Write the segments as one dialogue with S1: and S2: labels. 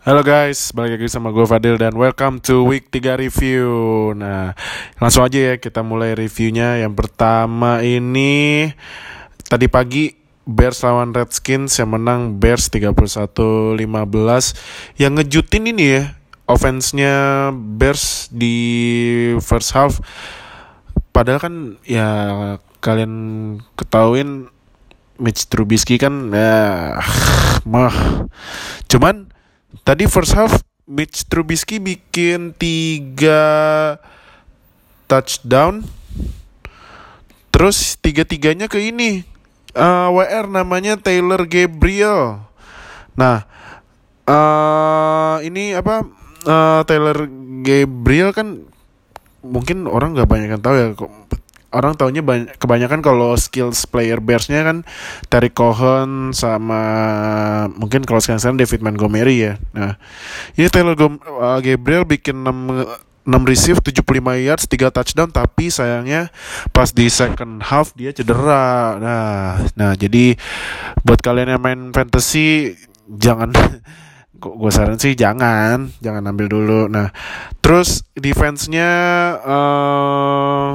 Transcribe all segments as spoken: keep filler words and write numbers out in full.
S1: Halo guys, balik lagi sama gue Fadil dan welcome to week tiga review. Nah, langsung aja ya kita mulai reviewnya. Yang pertama ini tadi pagi Bears lawan Redskins yang menang Bears tiga puluh satu lima belas. Yang ngejutin ini ya, offense-nya Bears di first half. Padahal kan ya kalian ketahuin Mitch Trubisky kan ya mah. Cuman tadi first half Mitch Trubisky bikin tiga touchdown. Terus tiga-tiganya ke ini uh, W R namanya Taylor Gabriel. Nah uh, ini apa uh, Taylor Gabriel kan mungkin orang gak banyak yang tahu ya. Orang taunya banyak, kebanyakan kalau skills player Bears-nya kan Terry Cohen sama mungkin kalau sekarang-sekarang David Montgomery ya. Nah, ini Taylor uh, Gabriel bikin enam receive, tujuh puluh lima yards, tiga touchdown, tapi sayangnya pas di second half dia cedera. Nah, nah jadi buat kalian yang main fantasy jangan gue saran sih jangan jangan ambil dulu. Nah, terus defense-nya uh,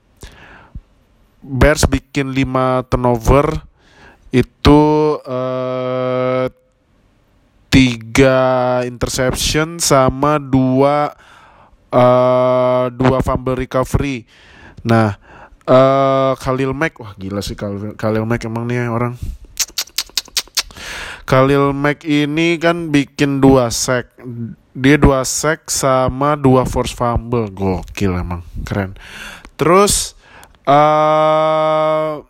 S1: Bears bikin lima turnover, itu uh, tiga interception sama dua uh, dua fumble recovery. Nah, uh, Khalil Mack, wah gila sih Khalil, Khalil Mack emang nih orang. Khalil Mack ini kan bikin dua sack, dia dua sack sama dua force fumble, gokil emang keren. Terus Uh,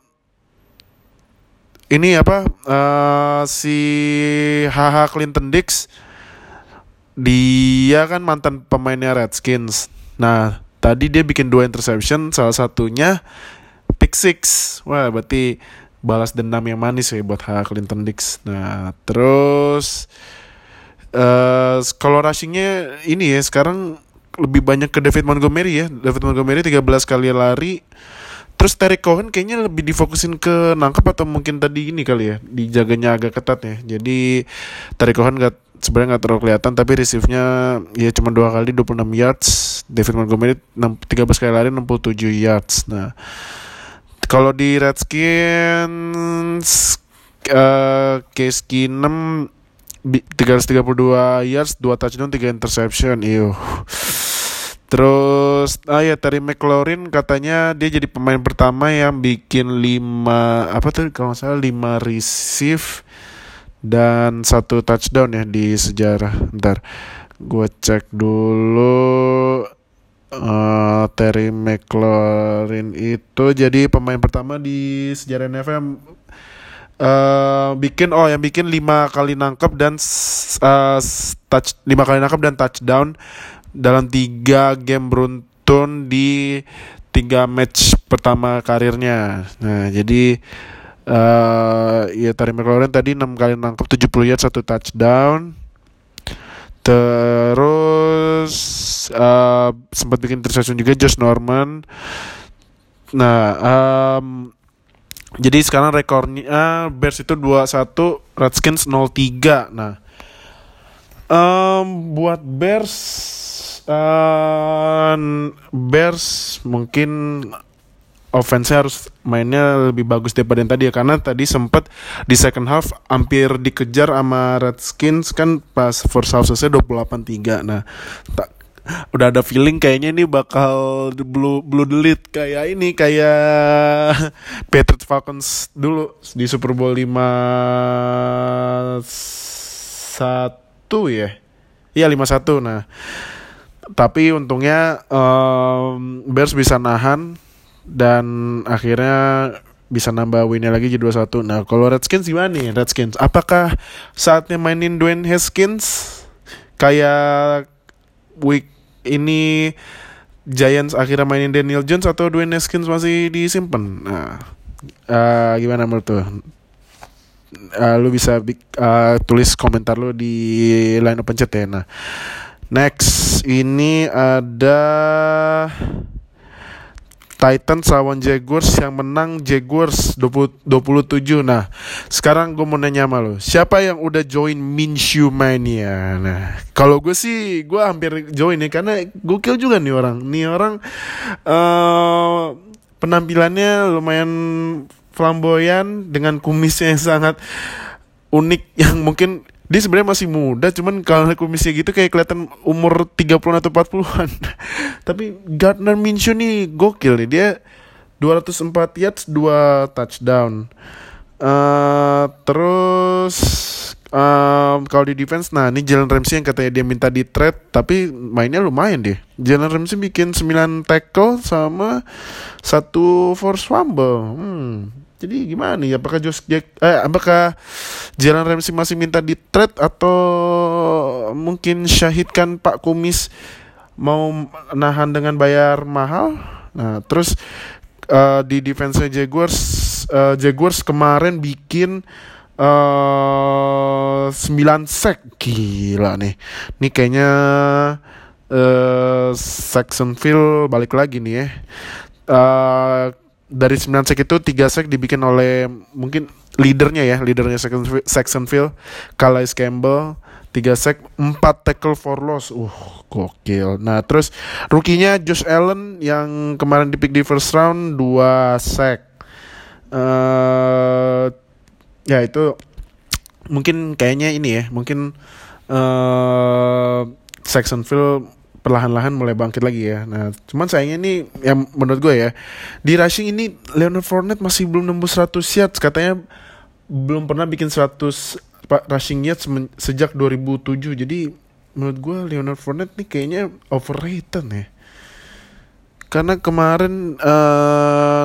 S1: ini apa uh, si H H Clinton Dix, dia kan mantan pemainnya Redskins. Nah tadi dia bikin dua interception, salah satunya pick six. Wah berarti balas dendam yang manis ya buat H H Clinton Dix. Nah terus uh, kalau rushingnya ini ya sekarang lebih banyak ke David Montgomery ya. David Montgomery tiga belas kali lari. Terus Terry Cohen kayaknya lebih difokusin ke nangkep atau mungkin tadi ini kali ya, dijaganya agak ketat ya. Jadi Terry Cohen gak, sebenarnya nggak terlalu kelihatan, tapi receive-nya ya cuma dua kali dua puluh enam yards. David Montgomery tiga belas kali lari enam puluh tujuh yards. Nah kalau di Redskins uh, Case Keenum tiga ratus tiga puluh dua yards, dua touchdown, tiga interception. Iyo. Terus ah ya Terry McLaurin katanya dia jadi pemain pertama yang bikin lima apa tuh kalau nggak salah lima receive dan satu touchdown ya di sejarah. Bentar, gue cek dulu. uh, Terry McLaurin itu jadi pemain pertama di sejarah N F L uh, bikin oh yang bikin lima kali nangkep dan uh, touch lima kali nangkep dan touchdown dalam tiga game beruntun di tiga match pertama karirnya. Nah jadi uh, ya Terry McLaurin tadi enam kali nangkep, tujuh puluh yards, satu touchdown. Terus uh, sempat bikin interception juga Josh Norman. Nah um, jadi sekarang rekornya Bears itu dua puluh satu, Redskins nol tiga. Nah um, buat Bears Uh, Bears mungkin offense-nya harus mainnya lebih bagus daripada yang tadi ya, karena tadi sempat di second half hampir dikejar sama Redskins kan pas first half selesai dua puluh delapan tiga. Nah tak, udah ada feeling kayaknya ini bakal blue blue delete kayak ini kayak Patriots Falcons dulu di Super Bowl lima satu ya. Iya lima satu. Nah tapi untungnya um, Bears bisa nahan dan akhirnya bisa nambah winnya lagi jadi dua puluh satu. Nah kalau Redskins gimana nih Redskins? Apakah saatnya mainin Dwayne Haskins kayak week ini Giants akhirnya mainin Daniel Jones, atau Dwayne Haskins masih disimpan? Nah uh, gimana menurut tuh? Uh, lu bisa uh, tulis komentar lu di line open chat ya. Nah next ini ada Titans lawan Jaguars, yang menang Jaguars dua puluh, dua puluh tujuh. Nah, sekarang gue mau nanya sama lo, siapa yang udah join Minshew Mania? Nah, kalau gue sih, gue hampir join ya, karena gokil juga nih orang. Nih orang uh, penampilannya lumayan flamboyan dengan kumisnya yang sangat unik, yang mungkin dia sebenarnya masih muda, cuman kalau kumisnya gitu kayak kelihatan umur tiga puluhan atau empat puluhan. Tapi Gardner Minshew nih gokil nih, dia dua ratus empat yards, dua touchdown. Uh, terus um, kalau di defense, nah ini Jalen Ramsey yang katanya dia minta di trade, tapi mainnya lumayan deh. Jalen Ramsey bikin sembilan tackle sama satu force fumble. Hmm. Jadi gimana nih? Apakah Josh Jack, eh, apakah Jalen Ramsey masih minta di trade, atau mungkin syahidkan Pak Kumis mau nahan dengan bayar mahal? Nah, terus uh, di defense Jaguars, uh, Jaguars kemarin bikin uh, sembilan sack, gila nih. Ini kayaknya uh, Saxonville balik lagi nih ya. Uh, Dari sembilan sack itu tiga sack dibikin oleh mungkin leadernya ya, leadernya Saxonville, Calais Campbell. Tiga sack, empat tackle for loss. Uh, gokil. Nah, terus rookie-nya Josh Allen yang kemarin dipick di first round, dua sack. Uh, ya itu mungkin kayaknya ini ya, mungkin uh, Saxonville perlahan-lahan mulai bangkit lagi ya. Nah, cuman sayangnya nih, yang menurut gue ya, di rushing ini Leonard Fournette masih belum nembus seratus yards. Katanya belum pernah bikin seratus rushing yards sejak dua ribu tujuh. Jadi menurut gue Leonard Fournette nih kayaknya overrated ya. Karena kemarin uh,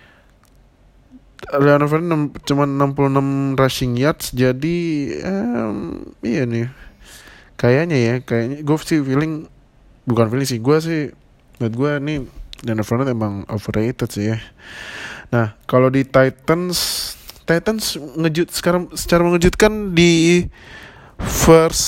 S1: Leonard Fournette cuma enam puluh enam rushing yards. Jadi um, iya nih, kayaknya ya, kayaknya gue sih feeling, bukan feeling sih, gue sih, menurut gue nih Leonard Fournette emang overrated sih ya. Nah, kalau di Titans, Titans ngejut sekarang secara mengejutkan di first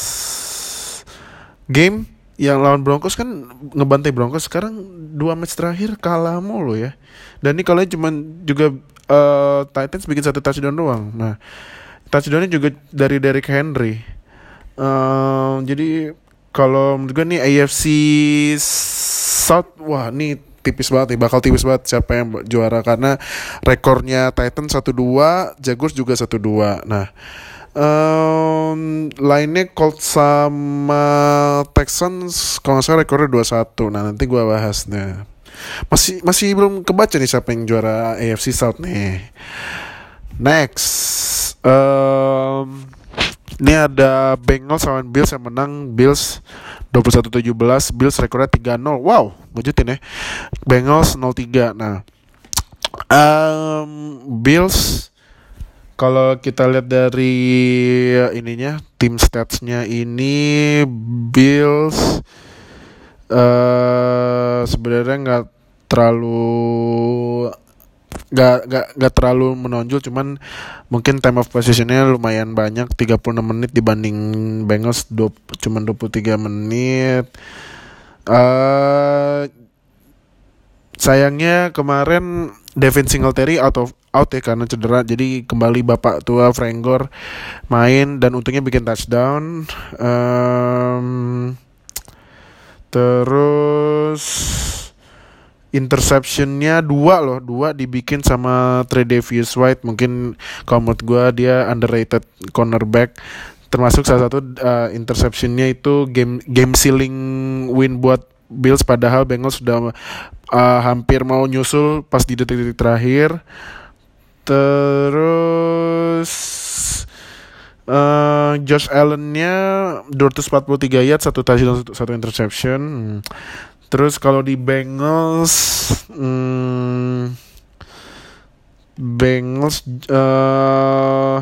S1: game yang lawan Broncos kan ngebantai Broncos, sekarang dua match terakhir kalah mulu ya. Dan ini kalau cuma juga uh, Titans bikin satu touchdown doang. Nah, touchdownnya juga dari Derrick Henry. Uh, jadi kalau menurut gue nih A F C South, wah nih tipis banget nih, bakal tipis banget siapa yang juara, karena rekornya Titans satu dua, Jaguars juga satu dua. Nah, um, lainnya Colts sama Texans kalau nggak salah rekornya dua satu. Nah, nanti gue bahas nih. Masih masih belum kebaca nih siapa yang juara A F C South nih. Next, um, ini ada Bengals lawan Bills yang menang Bills dua puluh satu tujuh belas. Bills rekornya tiga nol. Wow, ngejutin ya. Bengals nol tiga. Nah, um, Bills kalau kita lihat dari ininya, tim statsnya ini, Bills uh, sebenarnya nggak terlalu Gak, gak, gak terlalu menonjol, cuman mungkin time of possession-nya lumayan banyak, tiga puluh enam menit dibanding Bengals dua, cuman dua puluh tiga menit. uh, Sayangnya kemarin Devin Singletary out of out ya karena cedera, jadi kembali bapak tua Frank Gore main dan untungnya bikin touchdown. um, Terus interceptionnya dua loh, dua dibikin sama Tre'Davious White. Mungkin kalau menurut gue dia underrated cornerback. Termasuk salah satu uh, interceptionnya itu game game sealing win buat Bills, padahal Bengals sudah uh, hampir mau nyusul pas di detik-detik terakhir. Terus uh, Josh Allen-nya dua ratus empat puluh tiga yards, satu touchdown, satu, satu interception. Hmm. Terus kalau di Bengals, hmm, Bengals, uh,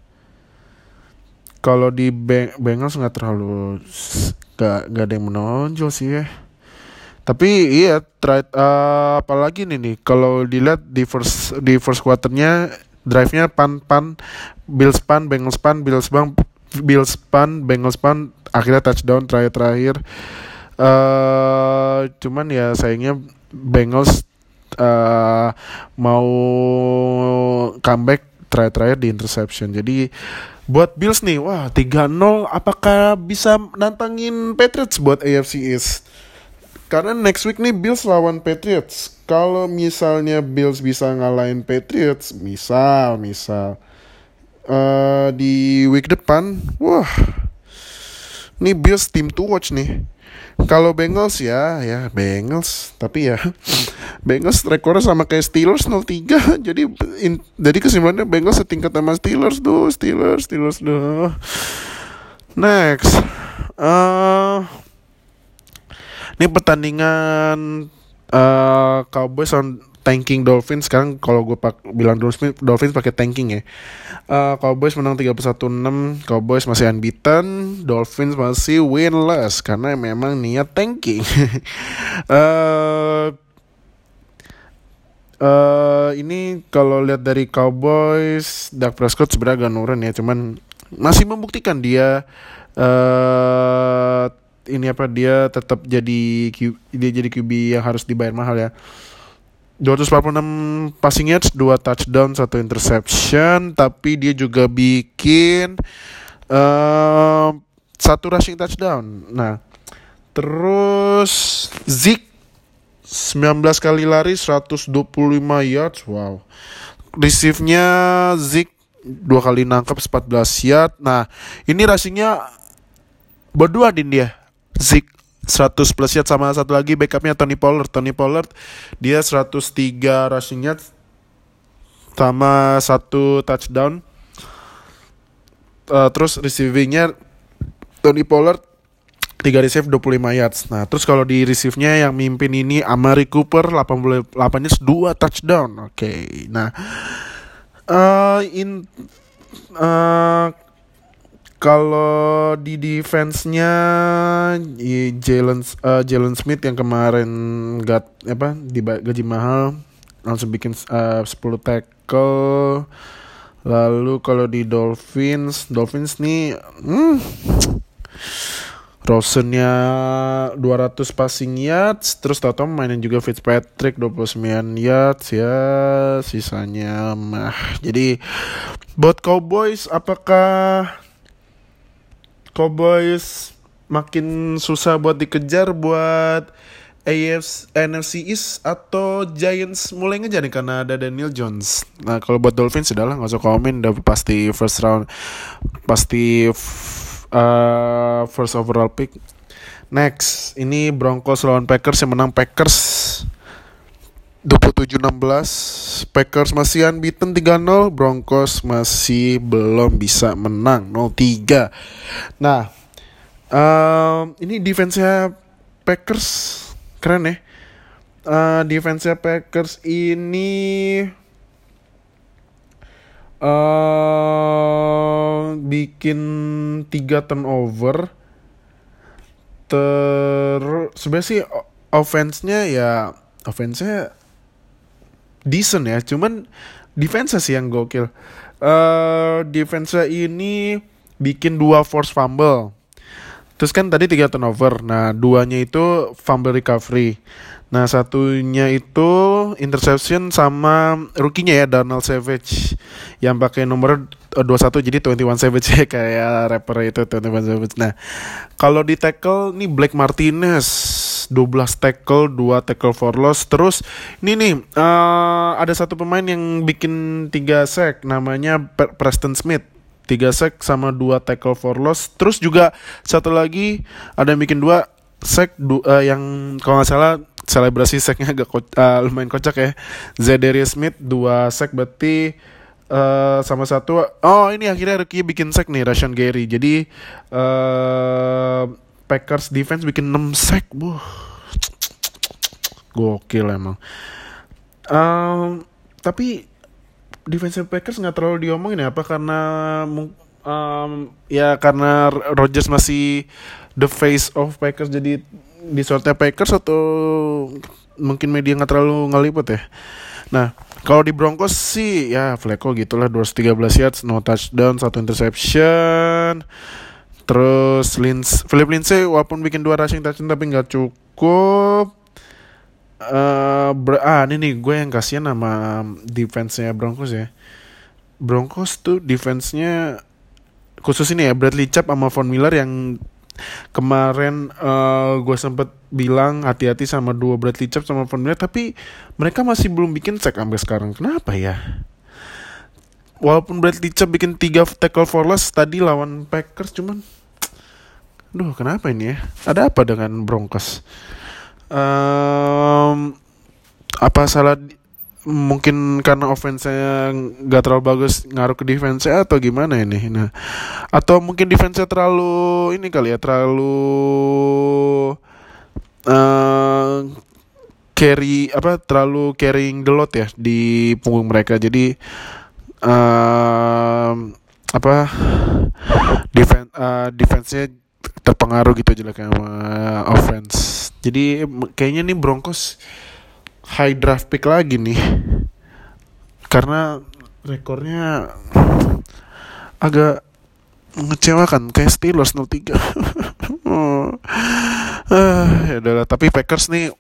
S1: kalau di Beng- Bengals nggak terlalu, nggak nggak ada yang menonjol sih ya. Tapi iya, try, uh, apalagi nih nih, kalau dilihat di first di first quarternya, drive-nya pan pan, Bills pan, Bengals pan, Bills bang, Bills pan, Bengals pan, akhirnya touchdown terakhir terakhir. Uh, cuman ya sayangnya Bengals uh, mau comeback terakhir-terakhir di interception. Jadi buat Bills nih, wah tiga nol apakah bisa nantangin Patriots buat A F C East? Karena next week nih Bills lawan Patriots. Kalau misalnya Bills bisa ngalahin Patriots, misal, misal uh, di week depan, wah, nih Bills team to watch nih. Kalau Bengals ya, ya Bengals, tapi ya Bengals rekornya sama kayak Steelers nol tiga. Jadi in, jadi kesimpulannya Bengals setingkat sama Steelers tuh, Steelers, Steelers tuh. Next, uh, ini pertandingan uh, Cowboys on tanking Dolphins. Sekarang kalau gue pak bilang Dolphins, Dolphins pakai tanking ya. Uh, Cowboys menang tiga puluh satu enam. Cowboys masih unbeaten. Dolphins masih winless karena memang niat tanking. uh, uh, ini kalau lihat dari Cowboys, Dak Prescott sebenarnya agak nurun ya. Cuman masih membuktikan dia uh, ini apa dia tetap jadi Q, dia jadi Q B yang harus dibayar mahal ya. dua ratus empat puluh enam passing yards, dua touchdown, satu interception, tapi dia juga bikin uh, satu rushing touchdown. Nah, terus Zeke sembilan belas kali lari, seratus dua puluh lima yards. Wow. Receive-nya Zeke dua kali nangkap, empat belas yard. Nah, ini rushing-nya berdua din dia. Zeke seratus plus yard sama satu lagi backupnya Tony Pollard. Tony Pollard dia seratus tiga rushing yards sama satu touchdown. Uh, terus receivingnya Tony Pollard tiga receive dua puluh lima yards. Nah, terus kalau di receive-nya yang mimpin ini Amari Cooper delapan puluh delapan yards, dua touchdown. Oke. Okay. Nah, uh, in uh, kalau di defense-nya Jalen uh, Jalen Smith yang kemarin got apa di gaji mahal langsung bikin uh, sepuluh tackle. Lalu kalau di Dolphins, Dolphins nih hmm, Rosen-nya dua ratus passing yards, terus tau-tau mainin juga Fitzpatrick dua puluh sembilan yards ya, sisanya mah. Jadi buat Cowboys, apakah Cowboys makin susah buat dikejar buat A F C, N F C East, atau Giants mulai ngejar nih karena ada Daniel Jones? Nah, kalau buat Dolphins sudahlah nggak usah komen, udah pasti first round, pasti f- uh, first overall pick. Next, ini Broncos lawan Packers, yang menang Packers dua puluh tujuh enam belas. Packers masih unbeaten tiga nol, Broncos masih belum bisa menang nol tiga. Nah, um, ini defense-nya Packers keren ya. Uh, defense-nya Packers ini uh, bikin tiga turnover. Terus sebenarnya sih offense-nya ya offense-nya decent ya, cuman defense sih yang gokil. Uh, defense ini bikin dua force fumble. Terus kan tadi tiga turnover. Nah, duanya itu fumble recovery. Nah, satunya itu interception sama rookie-nya ya, Darnell Savage, yang pakai nomor dua puluh satu, jadi dua puluh satu Savage ya, kayak rapper itu dua puluh satu Savage. Nah, kalau di tackle nih Blake Martinez dua belas tackle, dua tackle for loss. Terus ini nih uh, ada satu pemain yang bikin tiga sack, namanya Preston Smith, tiga sack sama dua tackle for loss. Terus juga satu lagi ada yang bikin dua sack, du- uh, yang kalau nggak salah selebrasi sacknya agak ko- uh, lumayan kocak ya, Za'Darius Smith dua sack, berarti uh, sama satu. Oh, ini akhirnya rookie bikin sack nih, Rashan Gary. Jadi uh, Packers defense bikin enam sack. Buh, gokil emang. Um, tapi defense Packers nggak terlalu diomongin ya, apa karena um, ya karena Rodgers masih the face of Packers, jadi di sortnya Packers, atau mungkin media nggak terlalu ngeliput ya. Nah, kalau di Broncos sih ya Flacco gitulah, dua ratus tiga belas yards, no touchdown, satu interception. Terus Lindsay, Philip Lindsay walaupun bikin dua rushing touchdown tapi nggak cukup. eh ber- ah ini nih gue yang kasihan sama defense-nya Broncos ya. Broncos tuh defense-nya khusus ini ya Bradley Chubb sama Von Miller yang kemarin eh gue sempet bilang hati-hati sama dua Bradley Chubb sama Von Miller, tapi mereka masih belum bikin sack sampai sekarang. Kenapa ya? Walaupun Bradley Chubb bikin tiga tackle for loss tadi lawan Packers, cuman duh kenapa ini ya? Ada apa dengan Broncos? Em, apa salah di- mungkin karena offense-nya nggak terlalu bagus ngaruh ke defense-nya atau gimana ini? Nah, atau mungkin defense-nya terlalu ini kali ya, terlalu eh carry apa terlalu carrying the load ya di punggung mereka. Jadi em, apa defense eh, defense-nya terpengaruh gitu jeleknya sama offense. Jadi em, kayaknya nih Broncos high draft pick lagi nih karena rekornya agak mengecewakan kayak Steelers nol tiga. Oh. Ah, ya udahlah, tapi Packers nih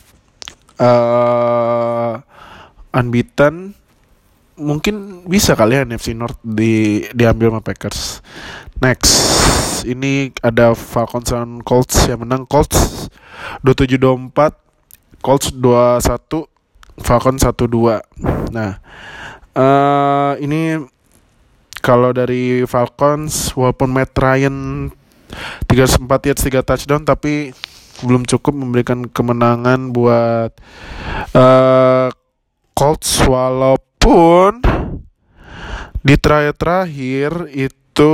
S1: eh unbeaten, mungkin bisa kali ya N F C North di diambil sama Packers. Next, ini ada Falcons dan Colts yang menang. Colts dua puluh tujuh dua puluh empat, Colts dua puluh satu, Falcons satu dua. Nah, eh ini kalau dari Falcons, walaupun Matt Ryan tiga ratus empat yards tiga touchdown, tapi belum cukup memberikan kemenangan buat eh Colts, walaupun di terakhir-terakhir itu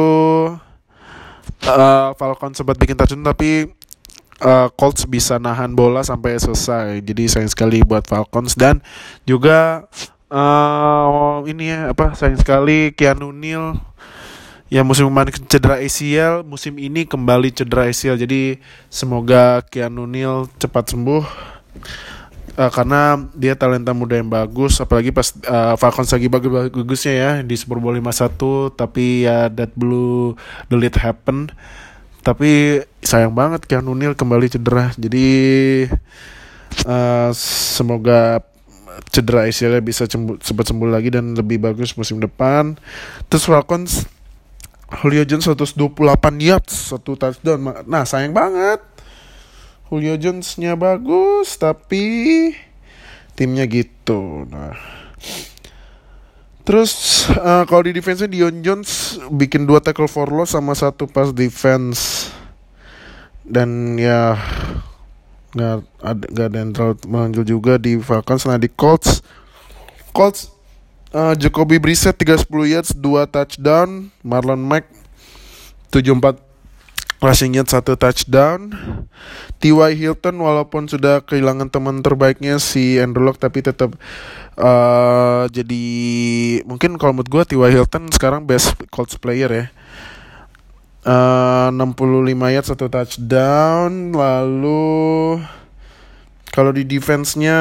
S1: eh Falcon sempat bikin touchdown, tapi eh, Colts bisa nahan bola sampai selesai. Jadi sayang sekali buat Falcons. Dan juga eh ini ya apa sayang sekali Keanu Neal yang musim kemarin cedera A C L, musim ini kembali cedera A C L. Jadi semoga Keanu Neal cepat sembuh. Eh, karena dia talenta muda yang bagus, apalagi pas eh, Falcons lagi bagus-bagusnya ya di Super Bowl lima puluh satu, tapi ya that blue the lead happen. Tapi sayang banget Keanu Neal kembali cedera. Jadi eh, semoga cedera A C L-nya bisa cembu- cepat sembuh lagi dan lebih bagus musim depan. Terus Falcons, Julio Jones seratus dua puluh delapan yards, satu touchdown. Nah sayang banget, Julio Jones-nya bagus tapi timnya gitu. Nah, terus uh, kalau di defense-nya Dion Jones bikin dua tackle for loss sama satu pass defense. Dan ya nggak ada nggak ada yang terlalu menonjol juga di Falcons. Nah di Colts, Colts uh, Jacoby Brissett tiga ratus sepuluh yards dua touchdown, Marlon Mack tujuh puluh empat rushing yards satu touchdown. T Y Hilton walaupun sudah kehilangan teman terbaiknya si Andrew Luck, tapi tetap uh, jadi mungkin kalau menurut gue T Y Hilton sekarang best Colts player ya. Uh, enam puluh lima yards satu touchdown. Lalu kalau di defense-nya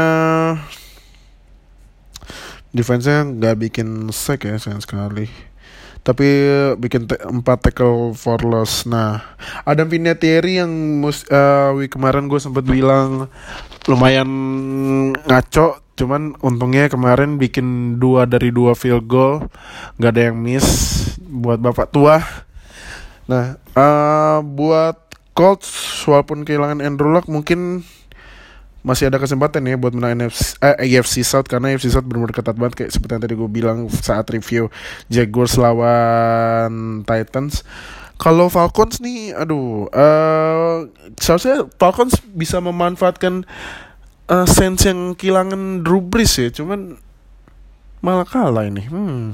S1: defense-nya nggak bikin sack ya sayang sekali, tapi bikin te- empat tackle for loss. Nah, Adam Vinatieri yang mus- uh, week kemarin gue sempat bilang lumayan ngaco, cuman untungnya kemarin bikin dua dari dua field goal, nggak ada yang miss buat bapak tua. Nah, uh, buat Colts walaupun kehilangan Andrew Luck mungkin masih ada kesempatan ya buat menang N F C, eh, A F C South, karena A F C South benar-benar ketat banget kayak seperti yang tadi gue bilang saat review Jaguars lawan Titans. Kalau Falcons nih, aduh, uh, seharusnya Falcons bisa memanfaatkan uh, Saints yang kehilangan Drew Brees ya, cuman malah kalah ini. Hmm.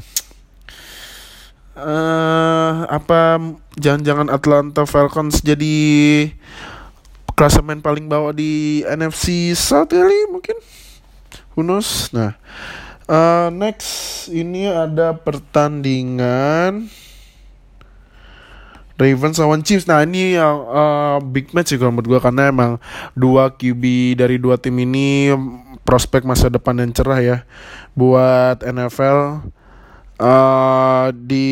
S1: Uh, apa jangan-jangan Atlanta Falcons jadi klasemen paling bawah di N F C South kali mungkin, who knows. Nah, uh, next ini ada pertandingan Ravens lawan Chiefs. Nah ini yang uh, big match sih kalau menurut gue, karena emang dua Q B dari dua tim ini prospek masa depan yang cerah ya buat N F L. Uh, di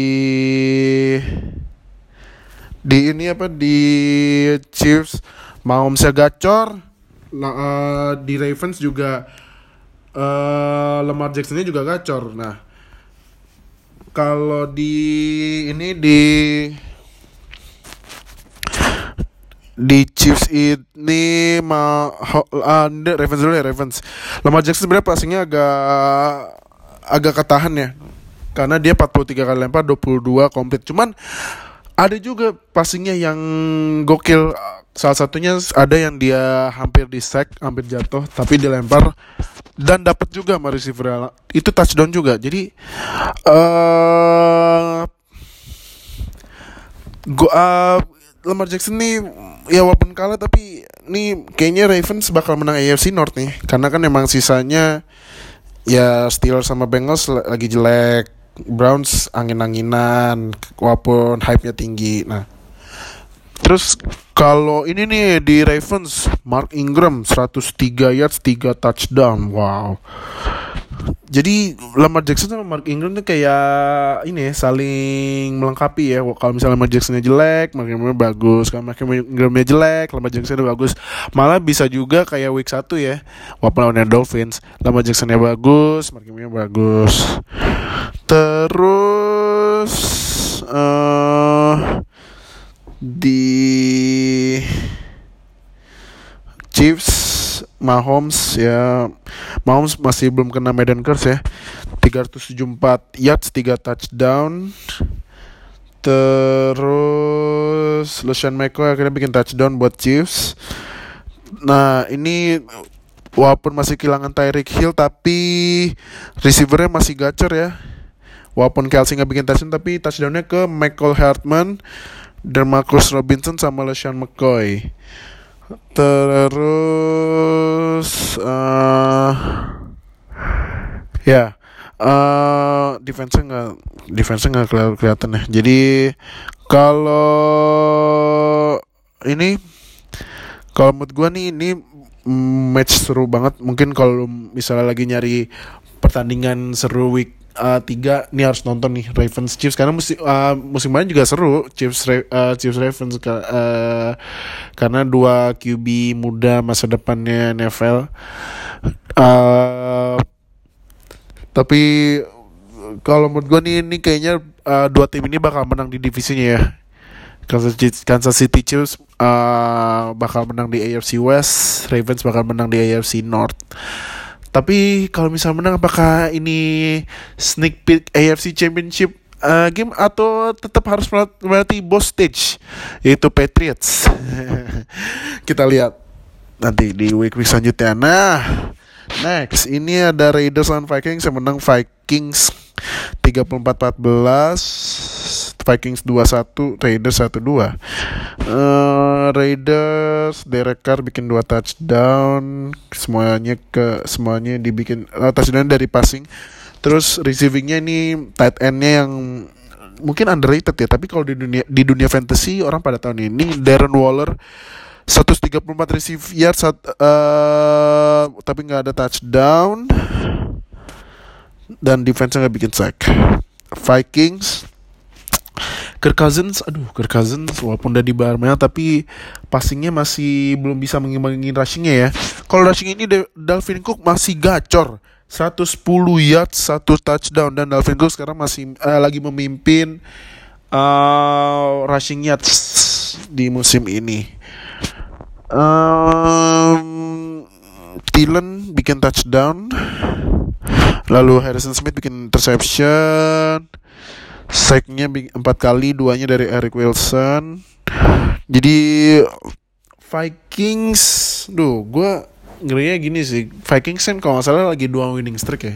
S1: di ini apa di Chiefs Mahomesnya gacor, La- eh, di Ravens juga eh Lamar Jacksonnya juga gacor. Nah, kalau di ini di di Chiefs ini ma ho- ah, ini Ravens dulu ya Ravens. Lamar Jackson sebenarnya passingnya agak agak ketahan ya. Karena dia empat puluh tiga kali lempar, dua puluh dua komplit. Cuman ada juga passingnya yang gokil. Salah satunya ada yang dia hampir di sack, hampir jatuh, tapi dilempar dan dapat juga sama receiver. Itu touchdown juga. Jadi eh Go uh, Lamar Jackson nih ya walaupun kalah tapi nih kayaknya Ravens bakal menang A F C North nih karena kan emang sisanya ya Steelers sama Bengals lagi jelek, Browns angin-anginan walaupun hype-nya tinggi. Nah, terus kalau ini nih di Ravens, Mark Ingram seratus tiga yards, tiga touchdown. Wow. Jadi Lamar Jackson sama Mark Ingram tuh kayak ini ya, saling melengkapi ya. Kalau misalnya Lamar Jacksonnya jelek, Mark Ingramnya bagus. Kalau Mark Ingramnya jelek, Lamar Jacksonnya bagus. Malah bisa juga kayak week satu ya, walaupun lawannya Dolphins, Lamar Jacksonnya bagus, Mark Ingramnya bagus. Terus uh, di Chiefs, Mahomes ya, Mahomes masih belum kena Medan Curse ya. tiga ratus tujuh puluh empat yards, tiga touchdown. Terus LeSean McCoy akhirnya bikin touchdown buat Chiefs. Nah, ini walaupun masih kehilangan Tyreek Hill tapi receivernya masih gacor ya. Walaupun Kelsey nggak bikin touchdown tapi touchdownnya ke Michael Hartman dan Marcus Robinson sama LeSean McCoy. Terus uh, ya uh, defense-nya nggak defense-nya nggak keli- kelihatan ya. Jadi kalau ini kalau menurut gue nih ini match seru banget. Mungkin kalau misalnya lagi nyari pertandingan seru week uh, tiga nih harus nonton nih Ravens Chiefs karena musim uh, musim lalu juga seru Chiefs uh, Chiefs Ravens uh, karena dua Q B muda masa depannya N F L. Uh, tapi kalau menurut gue nih ini kayaknya uh, dua tim ini bakal menang di divisinya ya. Kansas City, Kansas City Chiefs uh, bakal menang di A F C West, Ravens bakal menang di A F C North. Tapi kalau misalnya menang apakah ini sneak peek A F C Championship uh, game atau tetap harus melewati boss stage yaitu Patriots? Kita lihat nanti di week-week selanjutnya. Nah, next ini ada Raiders lawan Vikings yang menang Vikings tiga puluh empat empat belas, Vikings dua satu, Raiders satu dua. Uh, Raiders Derek Carr bikin dua touchdown, semuanya ke semuanya dibikin uh, touchdown dari passing. Terus receivingnya ini tight endnya yang mungkin underrated ya, tapi kalau di dunia di dunia fantasy orang pada tahun ini Darren Waller seratus tiga puluh empat receive yards uh, tapi nggak ada touchdown dan defense-nya nggak bikin sack. Vikings Kirk Cousins, aduh Kirk Cousins walaupun udah di Barmel tapi passingnya masih belum bisa mengimbangi rushingnya ya. Kalau rushing ini Dalvin Cook masih gacor, seratus sepuluh yards, satu touchdown, dan Dalvin Cook sekarang masih uh, lagi memimpin uh, rushing yards di musim ini. Um, Thielen bikin touchdown, lalu Harrison Smith bikin interception. Sacknya empat kali, duanya dari Eric Wilson. Jadi Vikings, duh, gue ngerinya gini sih. Vikings kan kalau nggak salah lagi dua winning streak ya.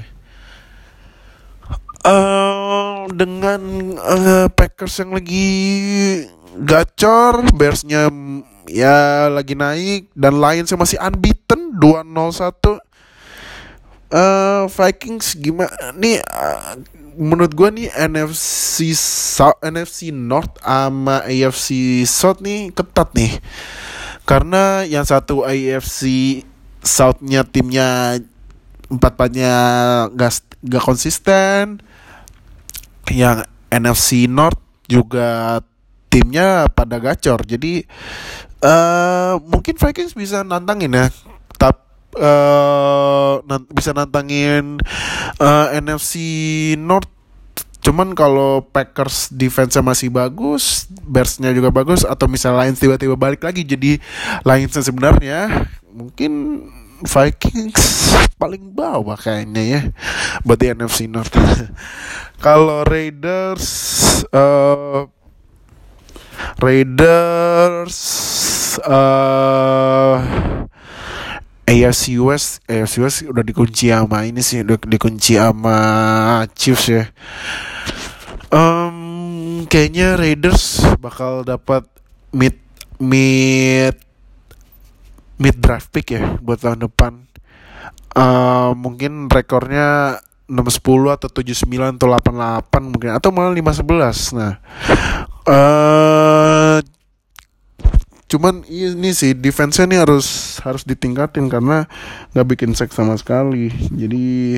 S1: Uh, dengan uh, Packers yang lagi gacor, Bearsnya ya lagi naik, dan Lions yang masih unbeaten dua nol satu. Uh, Vikings gimana nih? Uh, menurut gue nih N F C South, N F C North sama A F C South nih ketat nih. Karena yang satu A F C South-nya timnya empat-empatnya gak, gak konsisten. Yang N F C North juga timnya pada gacor. Jadi uh, mungkin Vikings bisa nantangin ya. uh, nan- bisa nantangin uh, N F C North. Cuman kalau Packers defense-nya masih bagus, Bears-nya juga bagus, atau misalnya Lions tiba-tiba balik lagi jadi Lions-nya sebenarnya, mungkin Vikings paling bawah kayaknya ya buat di N F C North. Kalau Raiders, uh, Raiders, uh, A F C West, A F C West udah dikunci sama ini sih, udah dikunci sama Chiefs ya. Um, kayaknya Raiders bakal dapat mid mid mid draft pick ya buat tahun depan. Uh, mungkin rekornya enam sepuluh atau tujuh sembilan atau delapan delapan mungkin, atau malah lima sebelas. Nah, uh, cuman ini sih defense-nya nih harus harus ditingkatin karena nggak bikin sack sama sekali. Jadi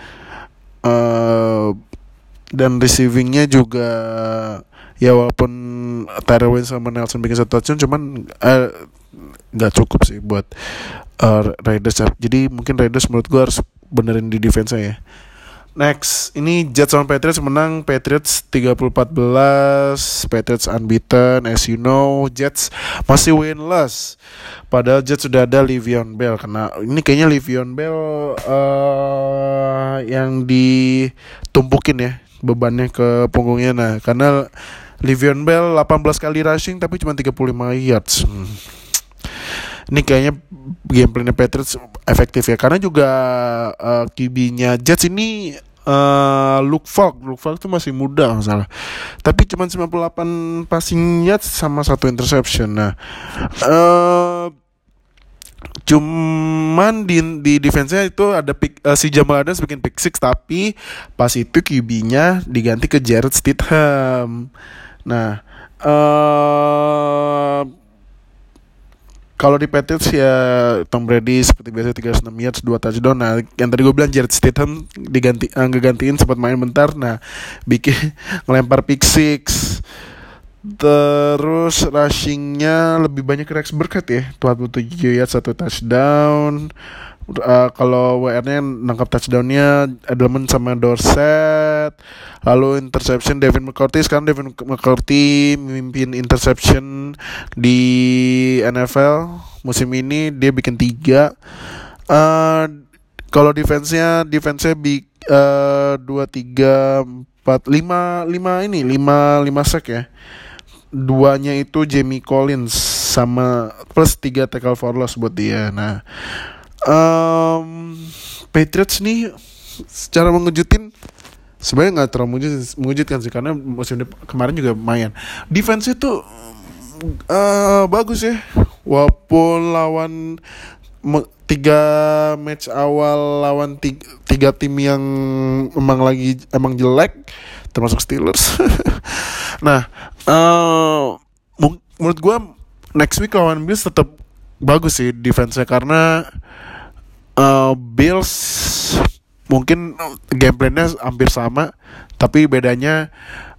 S1: uh, dan receivingnya juga ya, walaupun Tyrell Williams sama Nelson bikin satu touchdown, cuman nggak uh, cukup sih buat uh, Raiders. Jadi mungkin Raiders menurut gue harus benerin di defense-nya ya. Next, ini Jets sama Patriots menang. Patriots tiga puluh empat belas, Patriots unbeaten. As you know, Jets masih winless. Padahal Jets sudah ada Le'Veon Bell. Karena ini kayaknya Le'Veon Bell uh, yang ditumpukin ya bebannya ke punggungnya. Nah, karena Le'Veon Bell delapan belas kali rushing tapi cuma tiga puluh lima yards. Hmm. Ini kayaknya gameplaynya Patriots efektif ya, karena juga uh, Q B-nya Jets ini uh, Luke Falk. Luke Falk itu masih muda masalah, tapi cuma sembilan puluh delapan passing yards sama satu interception. Nah, uh, cuman di di defense-nya itu ada pick, uh, si Jamal Adams bikin pick six, tapi pas itu Q B-nya diganti ke Jarrett Stidham. Nah, uh, kalau di Patriots ya Tom Brady seperti biasa tiga ratus enam yards, dua touchdown. Nah, yang tadi gue bilang Jarrett Stidham diganti uh, ngegantiin sempat main bentar. Nah, bikin ngelempar pick six. Terus rushingnya lebih banyak ke Rex Burkhead ya, empat puluh tujuh yards, satu touchdown. Uh, kalau W R-nya nangkap touchdownnya Edelman sama Dorset. Lalu interception Devin McCourty. Sekarang Devin McCourty memimpin interception di N F L musim ini, dia bikin tiga. Uh, kalau defense-nya defense-nya bi uh, dua tiga empat lima lima ini lima lima sack ya. Duanya itu Jamie Collins sama plus tiga tackle for loss buat dia. Nah, um, Patriots nih secara mengejutkan sebenarnya nggak terlalu mengejutkan sih, karena musim kemarin juga lumayan. Defense itu uh, bagus ya, walaupun lawan me- tiga match awal lawan tiga, tiga tim yang emang lagi emang jelek, termasuk Steelers. Nah, uh, m- menurut gue next week lawan Bills tetap bagus sih defense-nya, karena uh, Bills mungkin gameplaynya hampir sama, tapi bedanya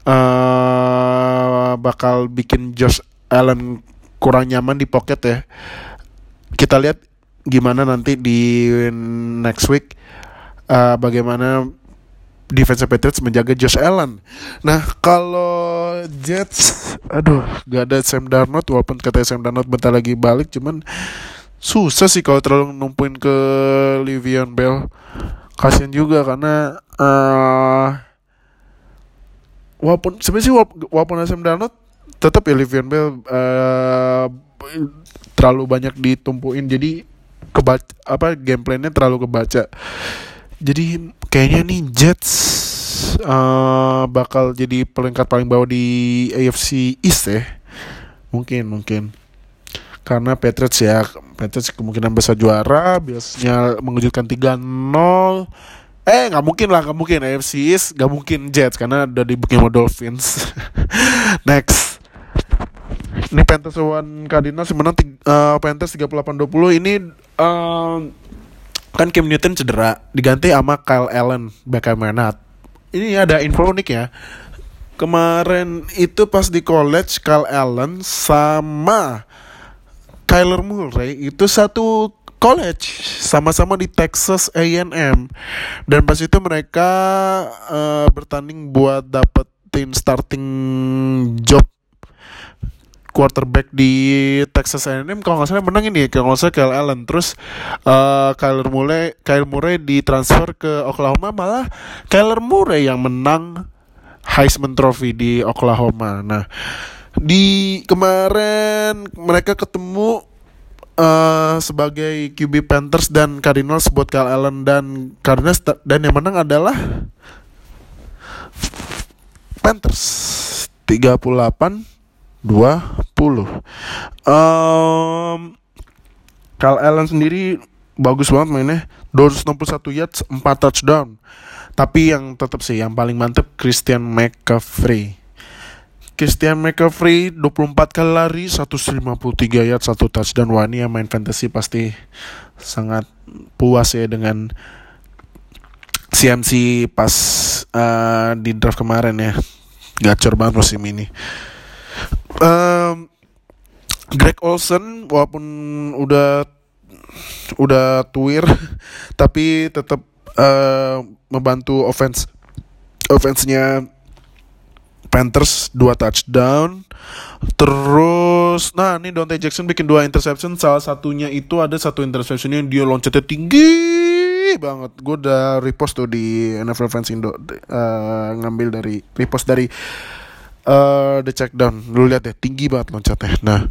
S1: uh, bakal bikin Josh Allen kurang nyaman di pocket ya. Kita lihat gimana nanti di next week, uh, bagaimana defense Patriots menjaga Josh Allen. Nah, kalau Jets, aduh, gak ada Sam Darnold, walaupun katanya Sam Darnold bentar lagi balik, cuman susah sih kalau terlalu numpuin ke Le'Veon Bell. Kasian juga karena uh, walaupun sebenarnya sih walaupun, walaupun Sam Darnold, tetap ya Le'Veon Bell uh, terlalu banyak ditumpuin, jadi kebaca apa gameplaynya terlalu kebaca. Jadi kayaknya nih Jets uh, bakal jadi peringkat paling bawah di A F C East ya. Mungkin mungkin karena Patriots ya, Patriots kemungkinan besar juara, biasanya mengejutkan tiga nol. Eh nggak mungkin lah, nggak mungkin A F C East, nggak mungkin Jets karena udah dibukin sama Dolphins. Next, ini Panthers lawan Cardinals menang uh, Panthers tiga puluh delapan dua puluh. Ini uh, kan Cam Newton cedera, diganti sama Kyle Allen, back Menat. Ini ada info unik ya. Kemarin itu pas di college, Kyle Allen sama Kyler Murray itu satu college, sama-sama di Texas A and M. Dan pas itu mereka uh, bertanding buat dapetin starting job quarterback di Texas A and M. Kalau nggak salah menang ini, kalau nggak salah Kyle Allen. Terus uh, Kyler Murray, Kyler Murray ditransfer ke Oklahoma, malah Kyler Murray yang menang Heisman Trophy di Oklahoma. Nah, di kemarin mereka ketemu uh, sebagai Q B Panthers dan Cardinals buat Kyle Allen dan Cardinals, dan yang menang adalah Panthers tiga puluh delapan dua puluh. um, Kyle Allen sendiri bagus banget mainnya, dua ratus enam puluh satu yards, empat touchdown. Tapi yang tetap sih yang paling mantep Christian McCaffrey. Christian McCaffrey dua puluh empat kali lari, seratus lima puluh tiga yards, satu touchdown. Wah, ini yang main fantasy pasti sangat puas ya dengan C M C pas uh, di draft kemarin ya. Gacor banget musim ini. um, Greg Olsen walaupun udah udah tuir tapi tetap uh, membantu offense offense-nya Panthers, dua touchdown. Terus nah ini Donte Jackson bikin dua interception. Salah satunya itu ada satu interception yang dia loncatnya tinggi banget. Gue udah repost tuh di N F L Fans Indo, uh, ngambil dari repost dari uh, The Checkdown. Lu lihat deh, tinggi banget loncatnya. Nah,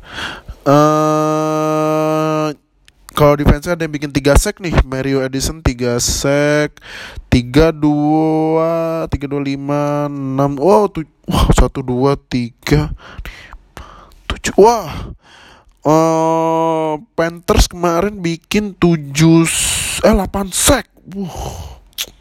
S1: uh, kalau defense ada yang bikin tiga sack nih. Mario Edison tiga sack, tiga dua, tiga dua lima, enam. Wow, tu, wah, satu dua tiga tujuh. Wah. Uh, Panthers kemarin bikin tujuh eh delapan sack. Wuh.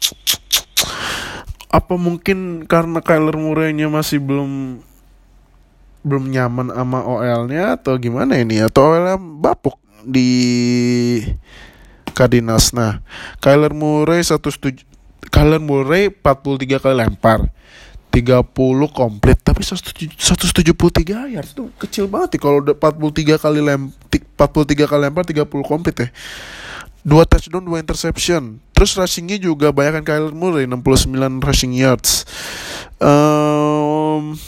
S1: Apa mungkin karena Kyler Murray-nya masih belum belum nyaman sama O L-nya atau gimana ini? Atau O L-nya bapuk di Cardinals. Nah, Kyler Murray seratus tujuh Kyler Murray empat puluh tiga kali lempar, tiga puluh komplit, tapi seratus tujuh puluh tiga yards itu kecil banget ya. Kalau udah empat puluh tiga kali lem empat puluh tiga kali lempar, tiga puluh komplit ya. Dua touchdown, dua interception. Terus rushingnya juga banyak kan Kyler Murray, enam puluh sembilan rushing yards. Um,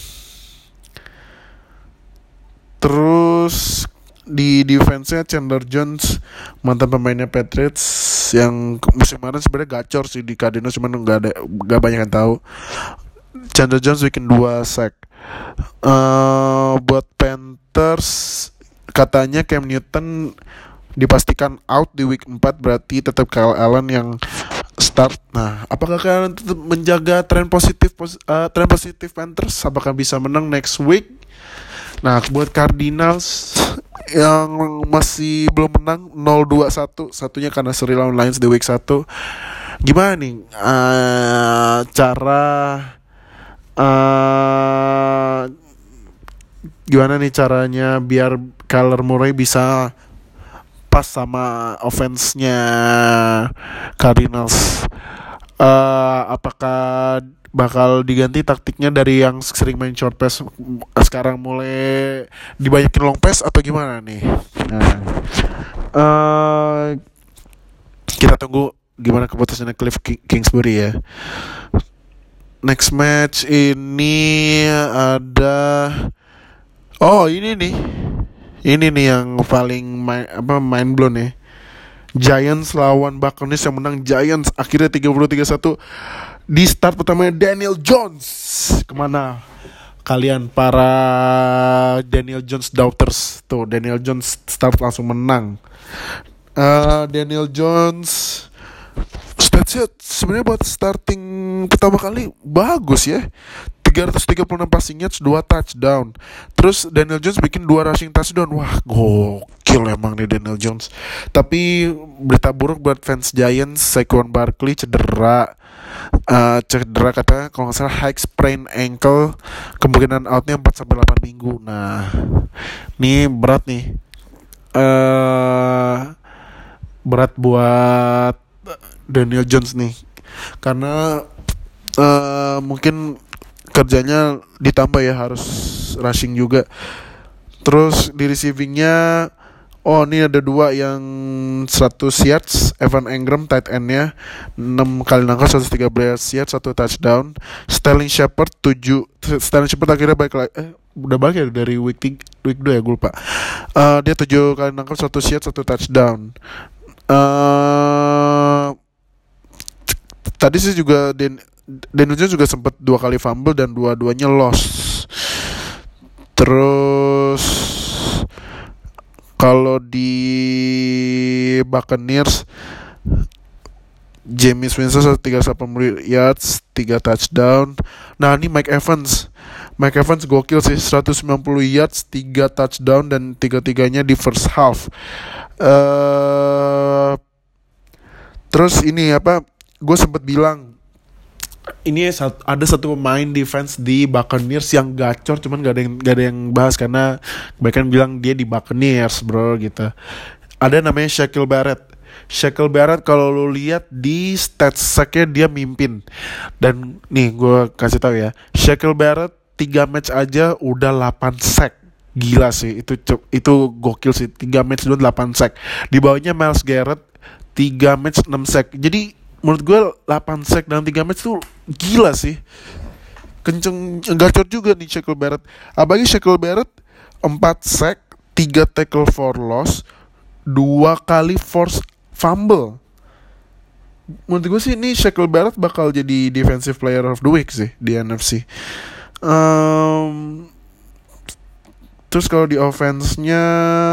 S1: terus di defense-nya Chandler Jones, mantan pemainnya Patriots yang musim kemarin sebenarnya gacor sih di Cardinals, cuman nggak ada nggak banyak yang tahu. Chandler Jones bikin dua sack. Uh, buat Panthers katanya Cam Newton dipastikan out di week empat, berarti tetap Kyle Allen yang start. Nah, apakah kalian tetap menjaga tren positif uh, tren positif Panthers? Apakah bisa menang next week? Nah, buat Cardinals yang masih belum menang nol dua satu, satunya karena seri lawan Lions di week satu. Gimana nih uh, cara uh, gimana nih caranya biar Kyler Murray bisa pas sama offense-nya Cardinals? Uh, apakah bakal diganti taktiknya dari yang sering main short pass sekarang mulai dibanyakin long pass atau gimana nih? Nah, uh, kita tunggu gimana keputusannya Cliff Kingsbury ya. Next match ini ada, oh ini nih, ini nih yang paling main, apa mind blown ya. Giants lawan Buccaneers, yang menang Giants akhirnya tiga puluh tiga satu. Di start pertamanya Daniel Jones. Kemana kalian para Daniel Jones doubters? Tuh, Daniel Jones start langsung menang. uh, Daniel Jones statsnya sebenarnya buat starting pertama kali bagus ya. tiga ratus tiga puluh enam passing yards, dua touchdown. Terus Daniel Jones bikin dua rushing touchdown. Wah, gokil emang nih Daniel Jones. Tapi berita buruk buat fans Giants, Saquon Barkley cedera. Uh, cedera katanya kalau nggak salah high sprain ankle, kemungkinan outnya empat sampai delapan minggu. Nah, ini berat nih. Uh, berat buat Daniel Jones nih. Karena uh, mungkin kerjanya ditambah ya, harus rushing juga. Terus di receivingnya Oh, ini ada dua yang seratus yards, Evan Engram tight end-nya enam kali nangkap seratus tiga belas yards, satu touchdown. Sterling Shepard tujuh, Sterling Shepard akhirnya balik lagi, eh, udah balik ya dari week tiga, week dua ya, gue lupa. Eh, dia tujuh kali nangkap seratus yards, satu touchdown. Eh tadi sih juga Den Denuznya juga sempat dua kali fumble dan dua-duanya loss. Terus kalau di Buccaneers, James Winston seratus tiga puluh delapan yards, tiga touchdown. Nah, ini Mike Evans. Mike Evans gokil sih, seratus sembilan puluh yards, tiga touchdown dan tiga-tiganya di first half. Uh, terus ini apa? Gue sempat bilang ini ada satu pemain defense di Buccaneers yang gacor, cuman gak ada yang gak ada yang bahas karena kebanyakan bilang dia di Buccaneers, bro, gitu. Ada namanya Shaquille Barrett. Shaquille Barrett kalau lu lihat di stats sacknya dia mimpin. Dan nih gue kasih tahu ya, Shaquille Barrett tiga match aja udah delapan sack. Gila sih, itu itu gokil sih, tiga match udah delapan sack. Di bawahnya Myles Garrett tiga match enam sack. Jadi menurut gue delapan sack dalam tiga match tuh gila sih. Kenceng, gacor juga nih Shaquille Barrett. Apalagi Shaquille Barrett empat sack, tiga tackle for loss, dua kali force fumble. Menurut gue sih ini Shaquille Barrett bakal jadi defensive player of the week sih di N F C. Um, terus kalau di offense-nya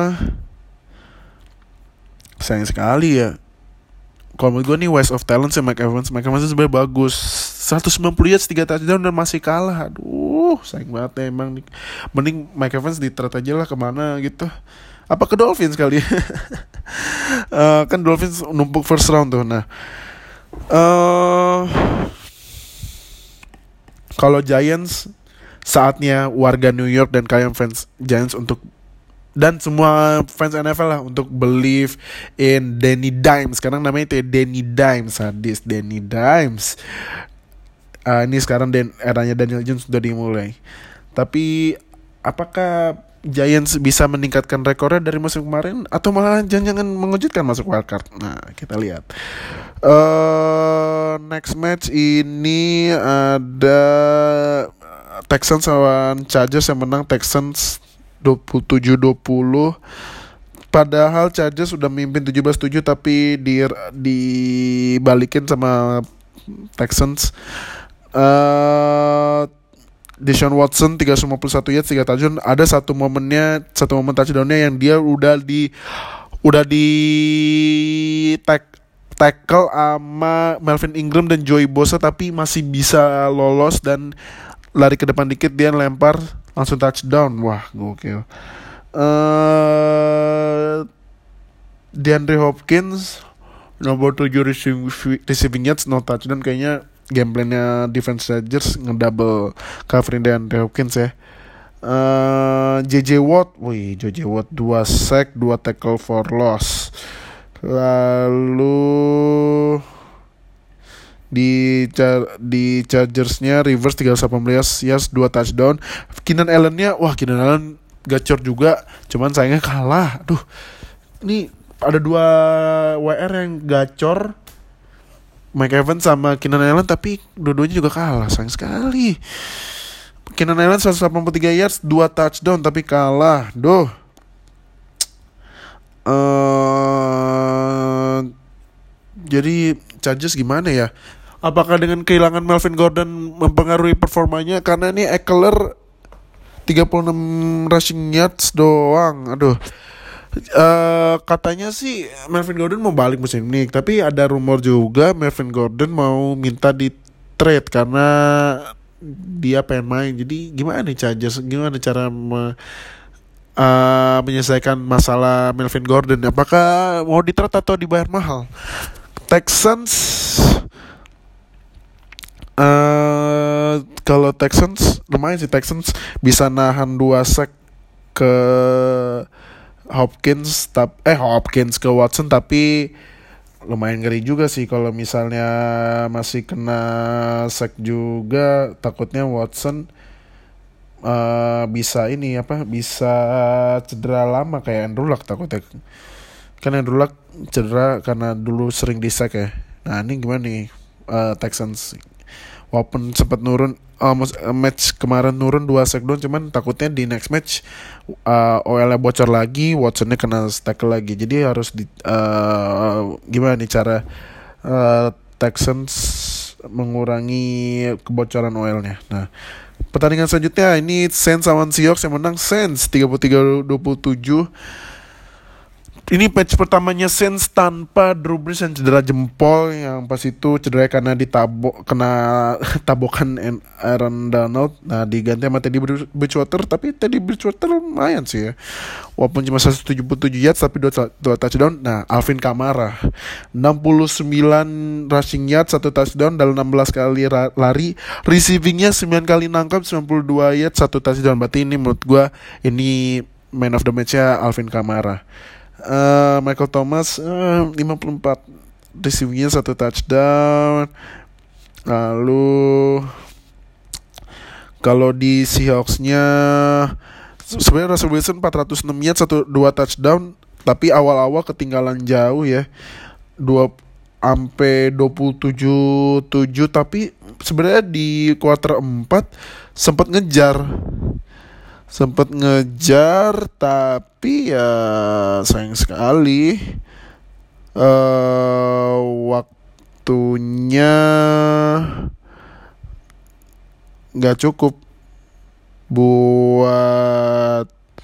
S1: sayang sekali ya. Kalau menurut gue nih waste of talent sih Mike Evans. Mike Evans sebenarnya bagus, seratus sembilan puluh yards, tiga touchdown dan masih kalah. Aduh, sayang banget ya emang nih. Mending Mike Evans di-trade aja lah kemana gitu. Apa ke Dolphins kali ya? uh, kan Dolphins numpuk first round tuh. Nah, uh, kalau Giants, saatnya warga New York dan kalian fans Giants untuk, dan semua fans N F L lah, untuk believe in Danny Dimes. Sekarang namanya itu Danny Dimes, sadis Danny Dimes. Uh, ini sekarang dan eranya Daniel Jones sudah dimulai. Tapi apakah Giants bisa meningkatkan rekornya dari musim kemarin atau malah jangan-jangan mengejutkan masuk wildcard? Nah, kita lihat. Uh, next match ini ada Texans lawan Chargers, yang menang Texans dua puluh tujuh dua puluh. Padahal Chargers sudah mimpin tujuh belas tujuh tapi di dibalikin sama Texans. Uh, Deshaun Watson tiga ratus lima puluh satu yards, tiga touchdown. Ada satu momennya, satu momen touchdownnya yang dia udah di udah di tag, tackle sama Melvin Ingram dan Joey Bosa tapi masih bisa lolos dan lari ke depan dikit dia lempar langsung touchdown. Wah, gokil. Uh, DeAndre Hopkins nomor tujuh receiving, receiving yards, no touchdown. Kayaknya game plan-nya defense Chargers ngedouble covering DeAndre Hopkins ya. Uh, J J Watt, wih J J Watt dua sack, dua tackle for loss. Lalu di char- di Chargers-nya Rivers tiga ratus delapan belas yards, dua touchdown. Keenan Allen-nya, wah Keenan Allen gacor juga, cuman sayangnya kalah. Aduh, ini ada dua W R yang gacor, Mike Evans sama Keenan Allen, tapi dua-duanya juga kalah, sayang sekali. Keenan Allen seratus delapan puluh tiga yards, dua touchdown tapi kalah. Duh. Uh, jadi Chargers gimana ya? Apakah dengan kehilangan Melvin Gordon mempengaruhi performanya? Karena ini Eckler tiga puluh enam rushing yards doang. Aduh. Uh, katanya sih Melvin Gordon mau balik musim ini, tapi ada rumor juga Melvin Gordon mau minta di trade karena dia pengen main. Jadi gimana nih Chargers? Gimana cara me, uh, menyelesaikan masalah Melvin Gordon? Apakah mau di trade atau dibayar mahal? Texans, uh, kalau Texans lumayan sih, Texans bisa nahan dua sack ke Hopkins, tap, eh Hopkins ke Watson, tapi lumayan ngeri juga sih kalau misalnya masih kena sack juga. Takutnya Watson uh, bisa ini apa bisa cedera lama kayak Andrew Luck takutnya. Kan Andrew Luck cedera karena dulu sering di sack ya. Nah ini gimana nih uh, Texans walaupun sempat nurun uh, match kemarin nurun dua sack doang, cuman takutnya di next match uh, O L-nya bocor lagi, Watsonnya kena tackle lagi. Jadi harus di uh, gimana nih cara uh, Texans mengurangi kebocoran O L-nya. Nah, pertandingan selanjutnya ini Saints lawan Seahawks, yang menang Saints tiga puluh tiga dua puluh tujuh. Ini match pertamanya Saints tanpa Drew Brees yang cedera jempol, yang pas itu cedera karena ditabok kena tabokan Aaron Donald. Nah diganti sama Teddy Bridgewater, tapi Teddy Bridgewater lumayan sih ya, walaupun cuma seratus tujuh puluh tujuh yards tapi dua touchdown. Nah Alvin Kamara enam puluh sembilan rushing yards, satu touchdown dalam enam belas kali lari, receivingnya sembilan kali nangkap, sembilan puluh dua yards, satu touchdown. Berarti ini menurut gue ini man of the match-nya Alvin Kamara. Uh, Michael Thomas uh, lima puluh empat receivingnya, satu touchdown. Lalu kalau di Seahawks-nya sebenarnya Russell Wilson empat ratus enam yards, satu dua touchdown, tapi awal-awal ketinggalan jauh ya, dua sampai dua puluh tujuh tujuh, tapi sebenarnya di kuarter empat sempat ngejar sempat ngejar tapi ya sayang sekali uh, waktunya nggak cukup buat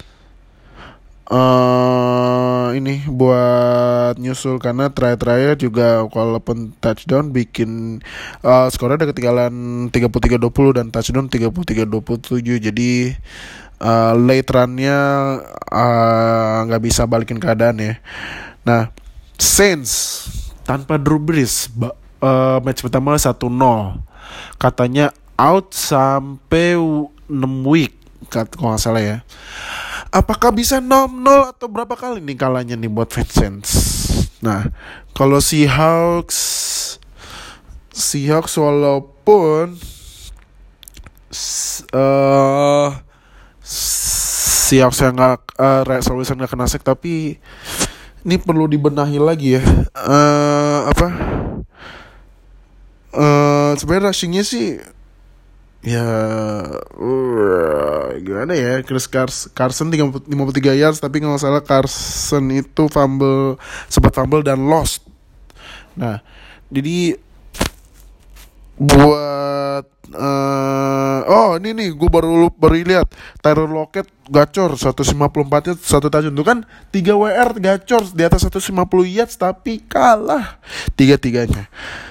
S1: uh, ini buat nyusul, karena terakhir-terakhir juga walaupun touchdown bikin uh, skornya udah ketinggalan tiga puluh tiga dua puluh dan touchdown tiga puluh tiga dua puluh tujuh. Jadi Uh, late run-nya nggak uh, bisa balikin keadaan ya. Nah, Saints tanpa Drew Brees ba- uh, match pertama satu nol, katanya out sampai enam week kalau nggak salah ya. Apakah bisa nol nol atau berapa kali nih kalahnya nih buat fans Saints? Nah, kalau Seahawks Seahawks walaupun uh, siap saya nggak uh, Russell Wilson nggak kena sack, tapi ini perlu dibenahi lagi ya. Uh, apa? Uh, sebenarnya rushingnya sih ya uh, gimana ya? Chris Cars- Carson lima puluh tiga yards, tapi nggak salah Carson itu fumble, sempat fumble dan lost. Nah, jadi buat uh, oh ini nih gue baru baru lihat Tyler Lockett gacor seratus lima puluh empat yards, satu touchdown. Itu kan tiga W R gacor di atas seratus lima puluh yards tapi kalah tiga-tiganya.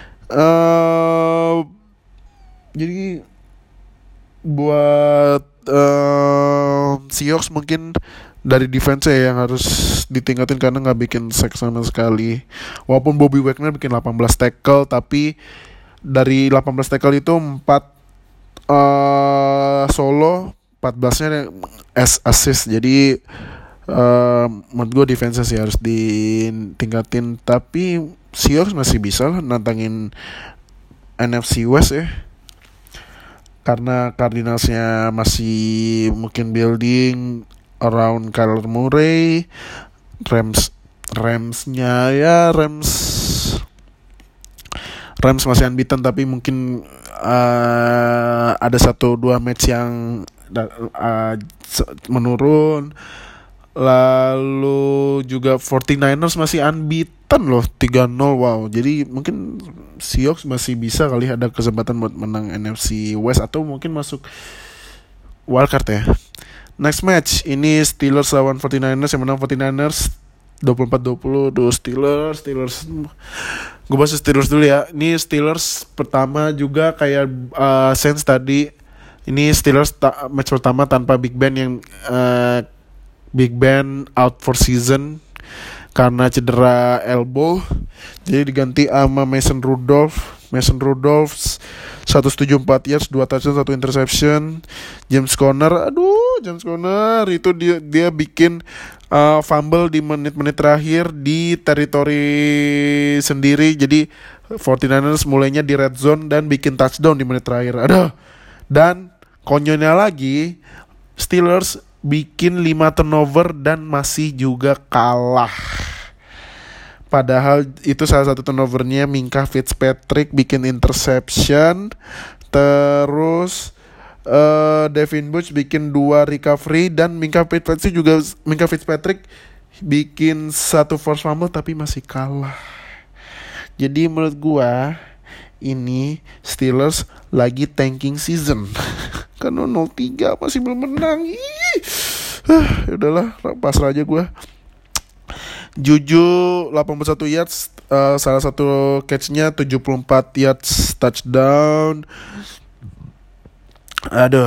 S1: Uh, jadi buat uh, Seahawks mungkin dari defense ya yang harus ditingkatin karena nggak bikin sack sama sekali. Walaupun Bobby Wagner bikin delapan belas tackle, tapi dari delapan belas tackle itu empat uh, solo, empat belasnya as assist. Jadi uh, menurut gue defense sih harus ditingkatin. Tapi Seahawks masih bisa lah nantangin N F C West ya, karena Cardinalsnya masih mungkin building around Kyler Murray. Rams Ramsnya ya Rams Rams masih unbeaten, tapi mungkin uh, ada satu dua match yang uh, menurun. Lalu juga forty-niners masih unbeaten loh, tiga nol. Wow, jadi mungkin Seahawks masih bisa kali ada kesempatan buat menang N F C West atau mungkin masuk wildcard ya. Next match ini Steelers lawan forty-niners, yang menang forty-niners dua puluh empat dua puluh. Duh, Steelers Steelers gue bahas Steelers dulu ya. Ini Steelers pertama juga kayak uh, Saints tadi. Ini Steelers ta- match pertama tanpa Big Ben, yang uh, Big Ben out for season karena cedera elbow. Jadi diganti sama Mason Rudolph. Mason Rudolph seratus tujuh puluh empat yards, dua touchdown, satu interception. James Conner, aduh James Conner itu dia dia bikin uh, fumble di menit-menit terakhir di teritori sendiri. Jadi forty-niners mulainya di red zone dan bikin touchdown di menit terakhir. Aduh. Dan konyolnya lagi, Steelers bikin lima turnover dan masih juga kalah. Padahal itu salah satu turnovernya Minkah Fitzpatrick bikin interception. Terus uh, Devin Bush bikin dua recovery. Dan Minkah Fitzpatrick juga Minkah Fitzpatrick bikin satu force fumble tapi masih kalah. Jadi menurut gua ini Steelers lagi tanking season. Karena nol tiga masih belum menang. Ih. Uh, udahlah, pasrah aja gue. Juju delapan puluh satu yards, uh, salah satu catch-nya tujuh puluh empat yards touchdown. Aduh.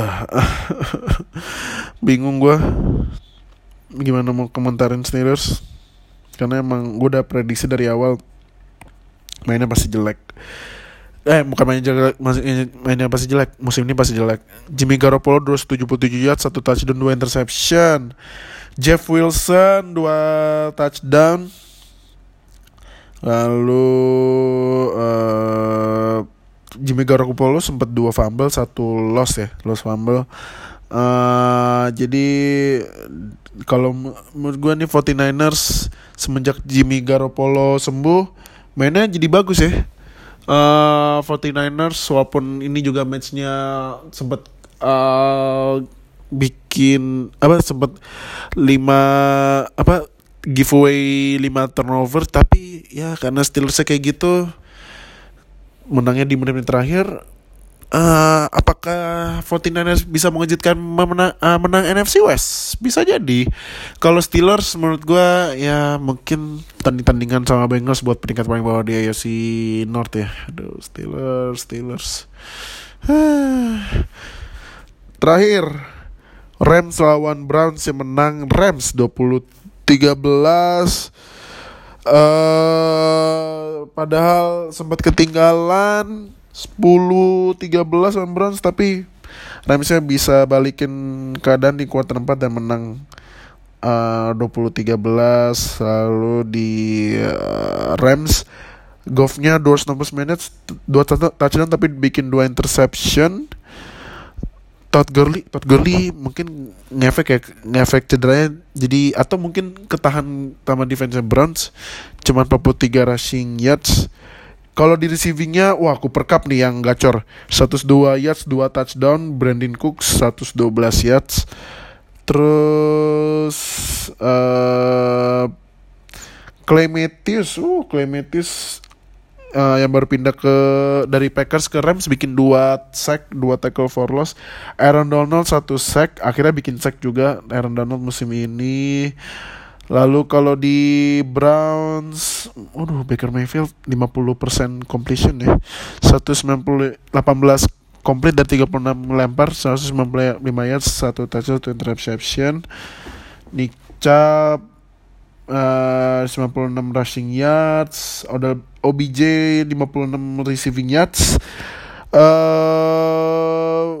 S1: Bingung gue gimana mau komentarin Steelers. Karena emang gue udah prediksi dari awal mainnya pasti jelek. Eh bukan mainnya jelek, mainnya pasti jelek. Musim ini pasti jelek. Jimmy Garoppolo dua ratus tujuh puluh tujuh yards, satu touchdown, dua interception. Jeff Wilson dua touchdown. Lalu uh, Jimmy Garoppolo sempat dua fumble, satu loss ya, loss fumble. Uh, jadi kalau menurut gue nih empat puluh ers semenjak Jimmy Garoppolo sembuh mainnya jadi bagus ya. Uh, empat puluh ers walaupun ini juga matchnya sempat uh, bikin apa sempat lima apa giveaway lima turnover, tapi ya karena Steelers kayak gitu menangnya di menit-menit terakhir. Uh, apakah empat puluh ers bisa mengejutkan menang, uh, menang N F C West? Bisa jadi. Kalau Steelers menurut gue ya mungkin tanding-tandingan sama Bengals buat peringkat paling bawah di A F C North ya. Aduh, Steelers, Steelers. Terakhir, Rams lawan Browns yang menang Rams dua puluh tiga belas. Uh, padahal sempat ketinggalan sepuluh tiga belas lawan Browns, tapi Ramsnya bisa balikin keadaan di kuarter empat dan menang uh, dua puluh tiga belas. Lalu di uh, Rams Goff-nya dua ratus enam puluh minutes, dua touchdown tapi bikin dua interception. Todd Gurley, Todd Gurley mungkin ngefek ya, ngefek cederanya. Jadi atau mungkin ketahan sama defense Browns, cuman empat puluh tiga rushing yards. Kalau di receivingnya, wah Cooper Kupp nih yang gacor, seratus dua yards, dua touchdown. Brandon Cooks seratus dua belas yards. Terus uh, Clay Matthews, uh Clay Matthews uh, yang baru pindah ke dari Packers ke Rams bikin dua sack, dua tackle for loss. Aaron Donald satu sack, akhirnya bikin sack juga Aaron Donald musim ini. Lalu kalau di Browns, waduh Baker Mayfield lima puluh persen completion ya, seratus sembilan puluh delapan belas complete dari tiga puluh enam melempar, seratus sembilan puluh lima yards, satu touchdown, satu interception. Nick Chubb uh, sembilan puluh enam rushing yards, ada O B J lima puluh enam receiving yards. Uh,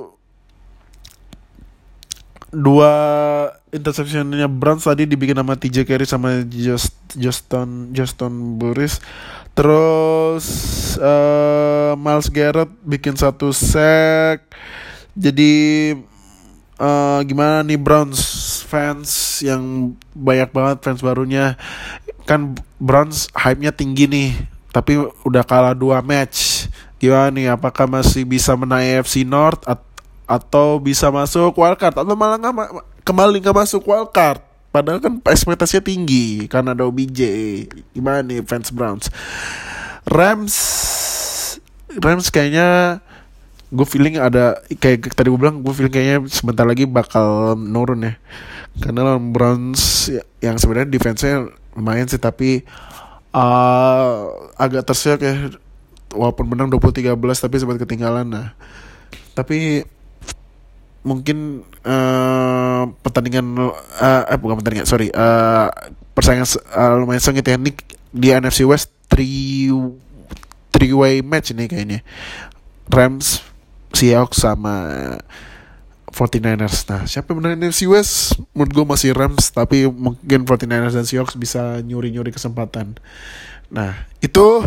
S1: dua interceptionnya Browns tadi dibikin sama T J Carey sama Just Justin Justin Burris. Terus uh, Myles Garrett bikin satu sack. Jadi uh, gimana nih Browns fans yang banyak banget fans barunya, kan Browns hype-nya tinggi nih, tapi udah kalah dua match. Gimana nih, apakah masih bisa menang A F C North at- atau bisa masuk wildcard, atau malah nggak ma- kembali nggak masuk wildcard? Padahal kan ekspektasinya tinggi karena ada O B J. Gimana nih fans Browns? Rams Rams kayaknya gue feeling ada, kayak tadi gue bilang, gue feeling kayaknya sebentar lagi bakal nurun ya. Karena Browns yang sebenarnya defense-nya lumayan sih, tapi uh, agak terseok ya. Walaupun menang dua puluh tiga belas tapi sempat ketinggalan. Nah, tapi mungkin uh, pertandingan uh, eh bukan pertandingan sorry uh, persaingan uh, lumayan sengit ya nih di N F C West. three three way match ini kayaknya, Rams, Seahawks sama empat puluh ers. Nah, siapa yang menang N F C West? Menurut gue masih Rams, tapi mungkin empat puluh ers dan Seahawks bisa nyuri-nyuri kesempatan. Nah, itu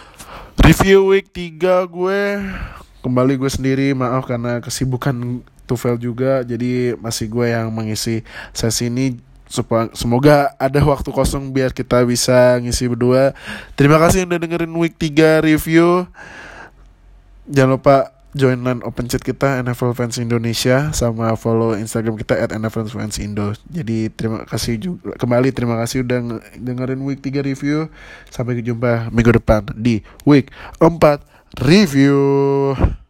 S1: review week tiga gue. Kembali gue sendiri, maaf karena kesibukan Tufel juga, jadi masih gue yang mengisi sesi ini. Supa- Semoga ada waktu kosong biar kita bisa ngisi berdua. Terima kasih udah dengerin week tiga review. Jangan lupa joinan open chat kita N F L Fans Indonesia, sama follow Instagram kita at N F L Fans Indo. Jadi terima kasih juga, kembali terima kasih udah nge- dengerin week tiga review. Sampai jumpa minggu depan di week empat review.